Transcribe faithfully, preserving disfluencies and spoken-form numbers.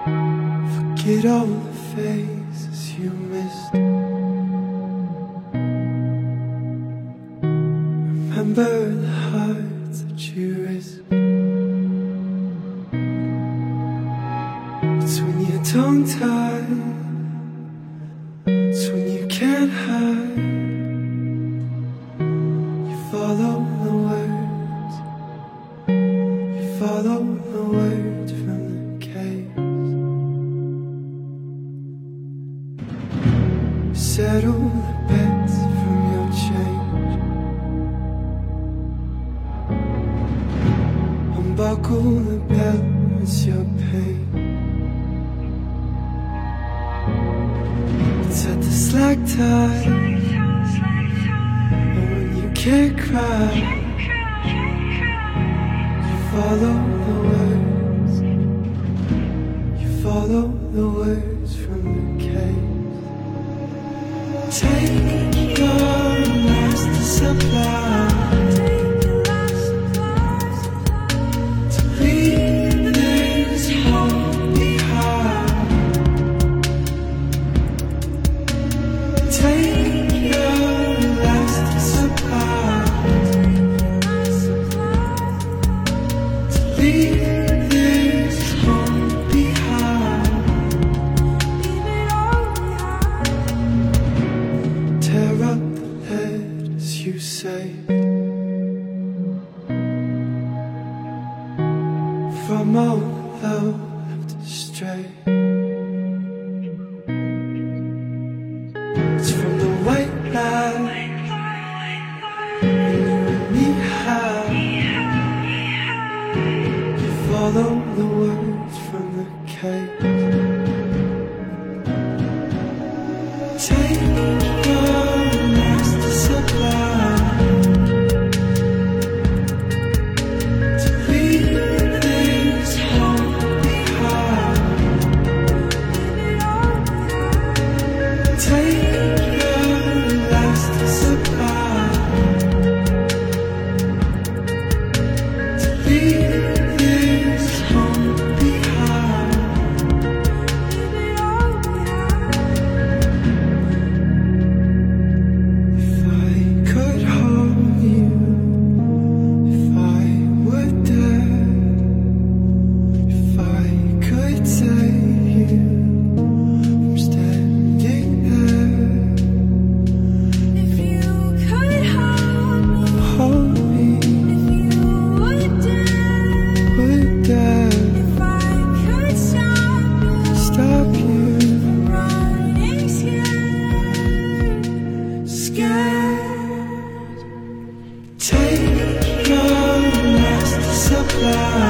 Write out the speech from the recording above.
Forget all the faces you missed. Remember the hearts that you risked. It's when you're tongue-tied, it's when you can't hide. You follow the words, you follow the words from the caves. Settle the bets from your change. Unbuckle the belt, it's your pain. Set the slack tide, and when you can't cry, you follow the words, you follow the words from the caves. Take your last supply to leave this home behind. Take your last supply to leave this home behind. Tear up the letters you saved from all the love left astray. It's from the white line when you and me high. You follow the words from the cave. Take your last supply to leave this home behind. Take your last supply to leave this home behind. If I could hold you, if I would dare, if I could save you from standing there. If you could hold me, Hold me, if you would dare, would dare if I could stop you stop you, running scared, scared. Take your last supply